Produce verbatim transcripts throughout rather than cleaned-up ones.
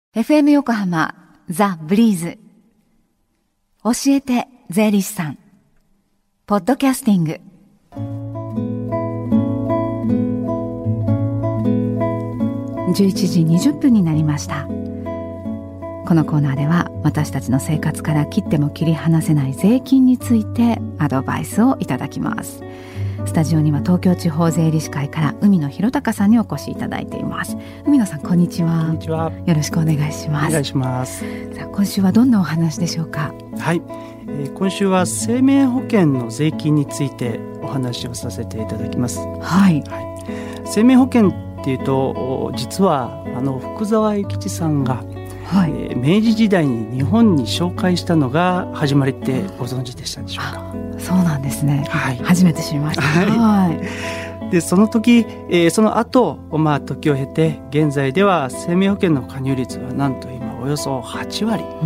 エフエム 横浜ザ・ブリーズ教えて税理士さんポッドキャスティング、じゅういちじにじゅっぷんになりました。このコーナーでは私たちの生活から切っても切り離せない税金についてアドバイスをいただきます。スタジオには東京地方税理士会から海野博隆さんにお越しいただいています。海野さん、こんにちは。 こんにちは。 よろしくお願いします。 お願いします。 さあ、今週はどんなお話でしょうか。 はい、えー、今週は生命保険の税金についてお話をさせていただきます。 はい、 はい、生命保険っていうと実はあの福沢諭吉さんが、はい、えー、明治時代に日本に紹介したのが始まりってご存知でしたでしょうか。 そうなんですね、はい、初めて知りました。 はいはい、でその時、えー、その後、まあ、時を経て現在では生命保険の加入率はなんと今およそはちわり。うん、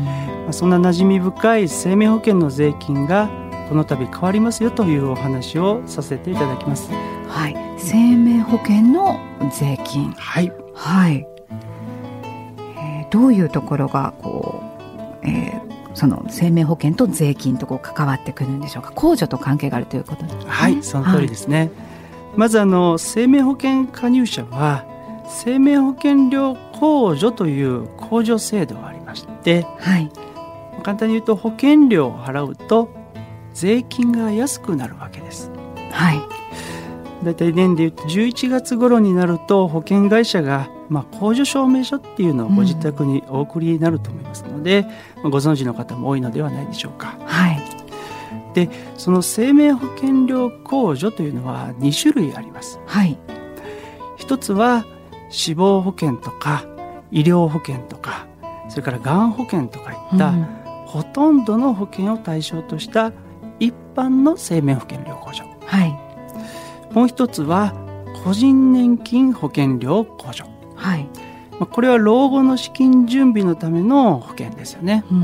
まあ、そんな馴染み深い生命保険の税金がこの度変わりますよというお話をさせていただきます。 はい、生命保険の税金、はい、はい、えー、どういうところがこう、えーその生命保険と税金とこう関わってくるんでしょうか。控除と関係があるということですね。 はい、その通りですね。はい、まずあの生命保険加入者は生命保険料控除という控除制度がありまして、はい、簡単に言うと保険料を払うと税金が安くなるわけです。はい、だいたい年で言うとじゅういちがつ頃になると保険会社が、まあ、控除証明書っていうのをご自宅にお送りになると思いますので、うん、ご存知の方も多いのではないでしょうか。はい、でその生命保険料控除というのはにしゅるいあります。はい、一つは死亡保険とか医療保険とかそれからがん保険とかいった、うん、ほとんどの保険を対象とした一般の生命保険料控除。はい、もう一つは個人年金保険料控除。はい、これは老後の資金準備のための保険ですよね。うん、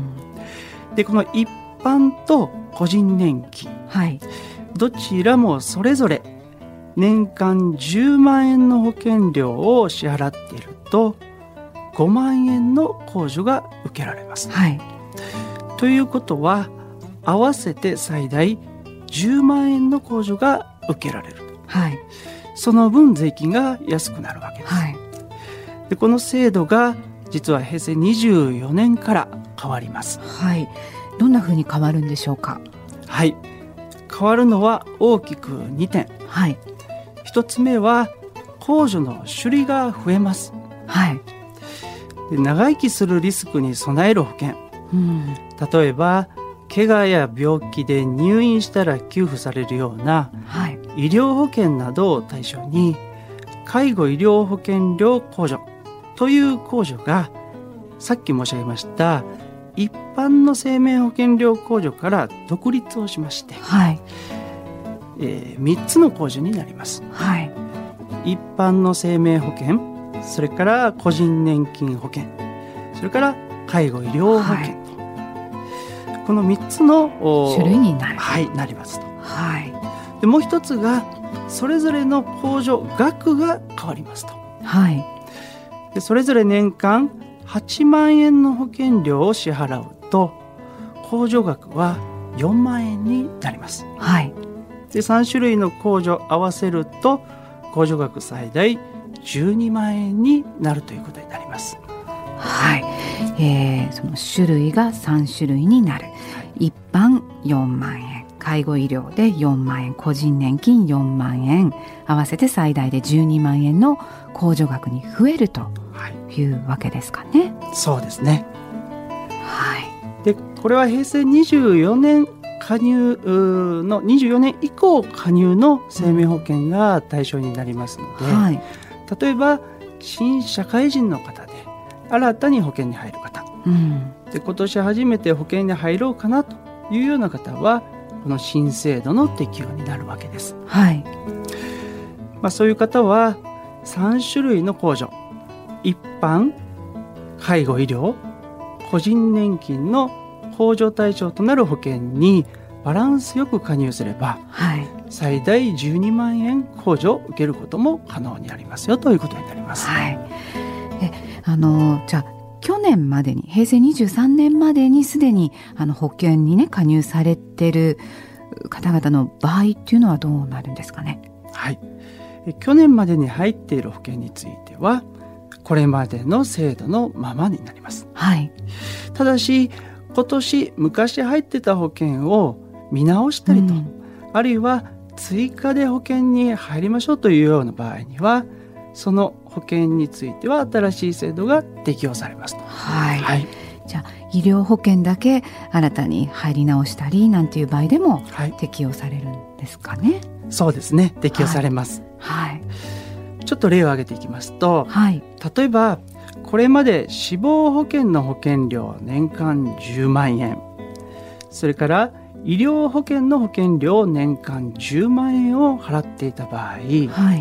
でこの一般と個人年金、はい、どちらもそれぞれ年間じゅうまんえんの保険料を支払っているとごまんえんの控除が受けられます。はい、ということは合わせて最大じゅうまんえんの控除が受けられる。はい、その分税金が安くなるわけです。はい、でこの制度が実はへいせいにじゅうよねんから変わります。 はい、どんなふうに変わるんでしょうか。 はい、変わるのは大きくにてん。はい、ひとつめは控除の種類が増えます。はい、で長生きするリスクに備える保険、うん、例えば怪我や病気で入院したら給付されるような、はい、医療保険などを対象に介護医療保険料控除という控除がさっき申し上げました一般の生命保険料控除から独立をしまして、はい、えー、みっつの控除になります。はい、一般の生命保険、それから個人年金保険、それから介護医療保険と、はい、このみっつの種類になる、 はい、なりますと。はい、でもう一つがそれぞれの控除額が変わりますと。はい、でそれぞれ年間はちまんえんの保険料を支払うと控除額はよんまんえんになります。はい、でさんしゅるいの控除合わせると控除額最大じゅうにまんえんになるということになります。 はい、えー、その種類がさんしゅるいになる。はい、一般よんまんえん、介護医療でよんまんえん、個人年金よんまんえん、合わせて最大でじゅうにまんえんの控除額に増えるというわけですかね。 はい、そうですね。はい、でこれはへいせいにじゅうよねん加入のにじゅうよねん以降加入の生命保険が対象になりますので、はい、例えば新社会人の方で新たに保険に入る方、うん、で今年初めて保険に入ろうかなというような方はこの新制度の適用になるわけです。はい、まあ、そういう方はさんしゅるいの控除、一般、介護医療、個人年金の控除対象となる保険にバランスよく加入すれば、はい、最大じゅうにまんえん控除を受けることも可能になりますよということになります。 はい、えあのじゃあ去年までにへいせいにじゅうさんねんまでにすでにあの保険にね加入されてる方々の場合っていうのはどうなるんですかね。 はい、去年までに入っている保険についてはこれまでの制度のままになります。 はい、 ただし今年昔入ってた保険を見直したりと、うん、あるいは追加で保険に入りましょうというような場合にはその保険については新しい制度が適用されますと。 はい、はい、じゃあ医療保険だけ新たに入り直したりなんていう場合でも適用されるんですかね。 はい、そうですね、適用されます。 はいはい、 ちょっと例を挙げていきますと、 はい、 例えばこれまで死亡保険の保険料年間じゅうまんえん、それから医療保険の保険料年間じゅうまんえんを払っていた場合、はい、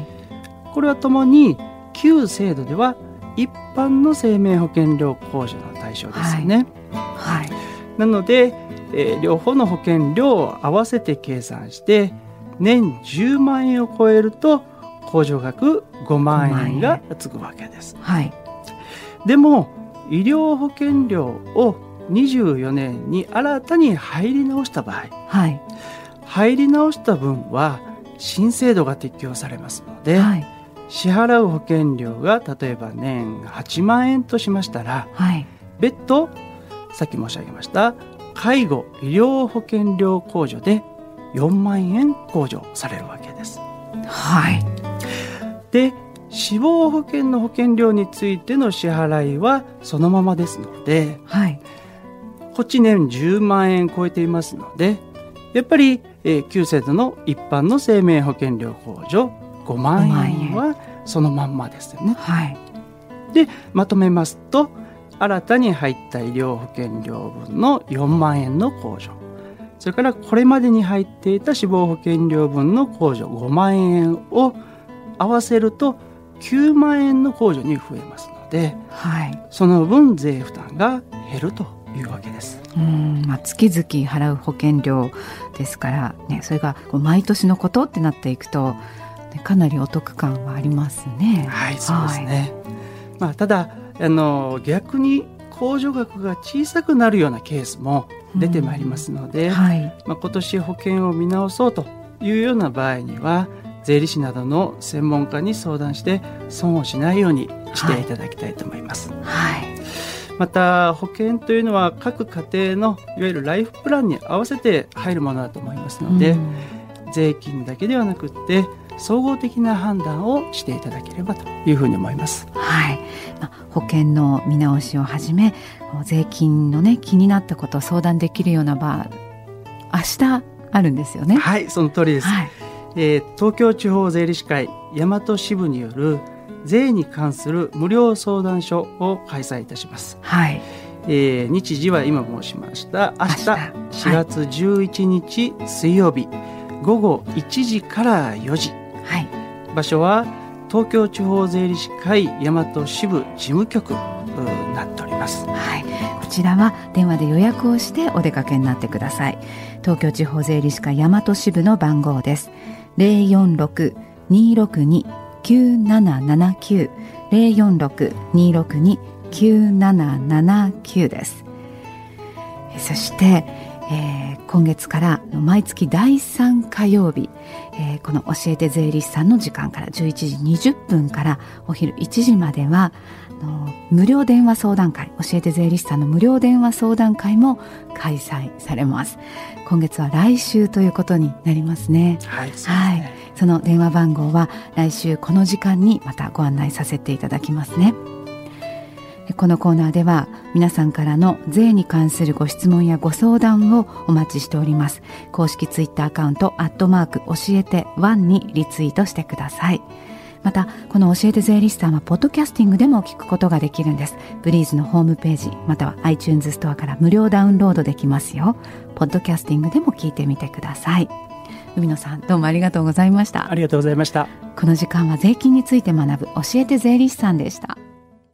これはともに旧制度では一般の生命保険料控除の対象ですよね。 はいはい、 なので、えー、両方の保険料を合わせて計算して年じゅうまんえんを超えると控除額ごまんえんがつくわけです。 はい、 でも医療保険料をにじゅうよねんに新たに入り直した場合、 はい、 入り直した分は新制度が適用されますので、 はい、 支払う保険料が例えば年はちまんえんとしましたら、 はい、 別途さっき申し上げました介護医療保険料控除でよんまんえん控除されるわけです。 はい、 で死亡保険の保険料についての支払いはそのままですので、 はい、 こっち年じゅうまんえん超えていますのでやっぱり、えー、旧制度の一般の生命保険料控除ごまんえんはそのまんまですよね。 はい、 でまとめますと新たに入った医療保険料分のよんまんえんの控除、それからこれまでに入っていた死亡保険料分の控除ごまんえんを合わせるときゅうまんえんの控除に増えますので、 はい、 その分税負担が減るというわけです。 うん、まあ、月々払う保険料ですから、ね、それがこう毎年のことってなっていくと、ね、かなりお得感はありますね。 はい、そうですね。はい、まあ、ただあの逆に控除額が小さくなるようなケースも出てまいりますので、うん、はい、まあ、今年保険を見直そうというような場合には税理士などの専門家に相談して損をしないようにしていただきたいと思います。 はいはい、 また保険というのは各家庭のいわゆるライフプランに合わせて入るものだと思いますので、うん、税金だけではなくって総合的な判断をしていただければというふうに思います。 はい、まあ、保険の見直しをはじめ税金の、ね、気になったことを相談できるような場明日あるんですよね。 はい、その通りです。はい、えー、東京地方税理士会大和支部による税に関する無料相談所を開催いたします。 はい、 えー、日時は今申しました明日しがつじゅういちにち水曜日、午後いちじからよじ、 はい、 場所は東京地方税理士会大和支部事務局になっております。 はい、こちらは電話で予約をしてお出かけになってください。東京地方税理士会大和支部の番号です。ゼロよんろく にーろくに きゅうななななきゅう ゼロよんろく にーろくに きゅうななななきゅうです。そして、えー、今月から毎月だいさん火曜日、えー、この教えて税理士さんの時間からじゅういちじにじゅっぷんからお昼いちじまではあの無料電話相談会、教えて税理士さんの無料電話相談会も開催されます。今月は来週ということになりますね。 はい、そうですね。はい、 その電話番号は来週この時間にまたご案内させていただきますね。このコーナーでは皆さんからの税に関するご質問やご相談をお待ちしております。公式ツイッターアカウントアットマーク教えてワンにリツイートしてください。またこの教えて税理士さんはポッドキャスティングでも聞くことができるんです。ブリーズのホームページまたは iTunes ストアから無料ダウンロードできますよ。ポッドキャスティングでも聞いてみてください。海野さん、どうもありがとうございました。 ありがとうございました。 この時間は税金について学ぶ教えて税理士さんでした。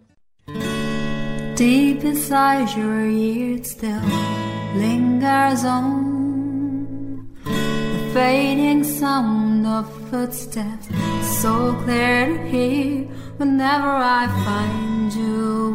Deep inside your ears still lingers on the fading sound of footsteps, so clear to hear whenever I find you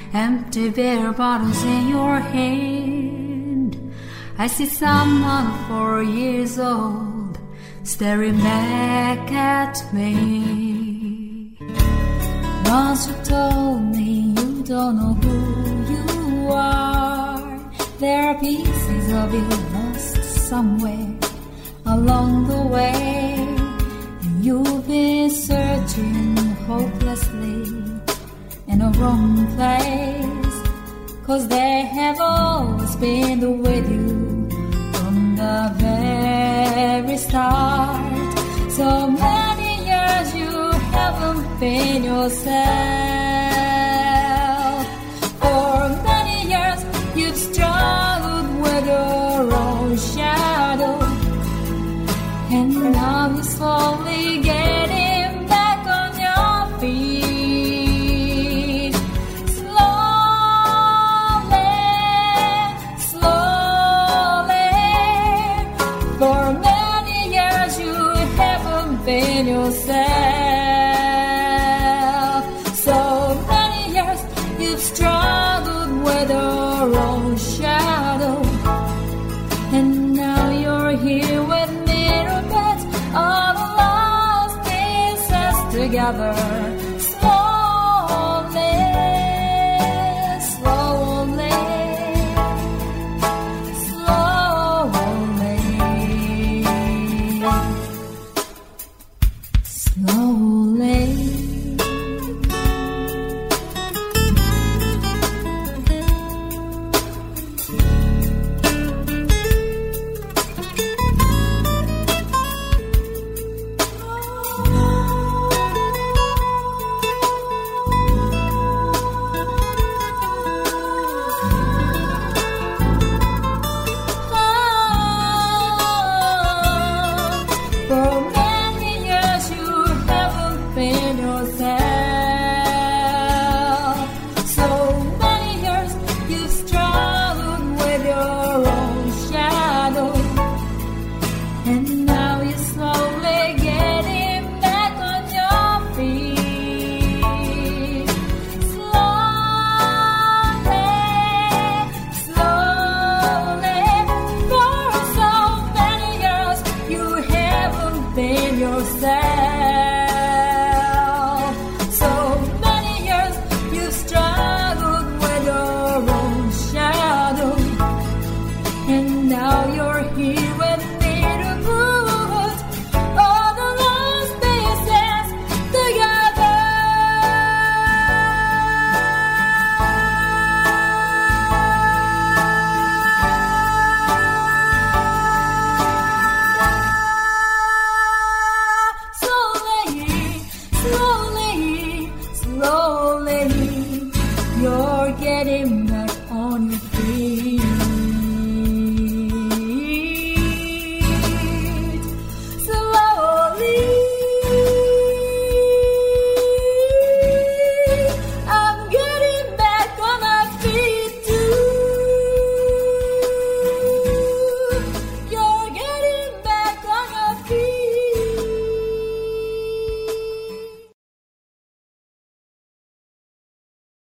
empty beer bottles in your hand. I see someone four years old staring back at me. Once you told me you don't know who you are. There are pieces of you lost somewhere along the way. And you've been searching hopelessly in a wrong place. 'Cause they have always been with you from the very start. So many years you haven't been yourself. For many years you've struggled with your own shadow. And now you're slowly getting back on your feet. Slowly, slowly. For many years you haven't been yourself. So many years you've struggled with your own shadow. And now you're here with me, all the lost pieces together.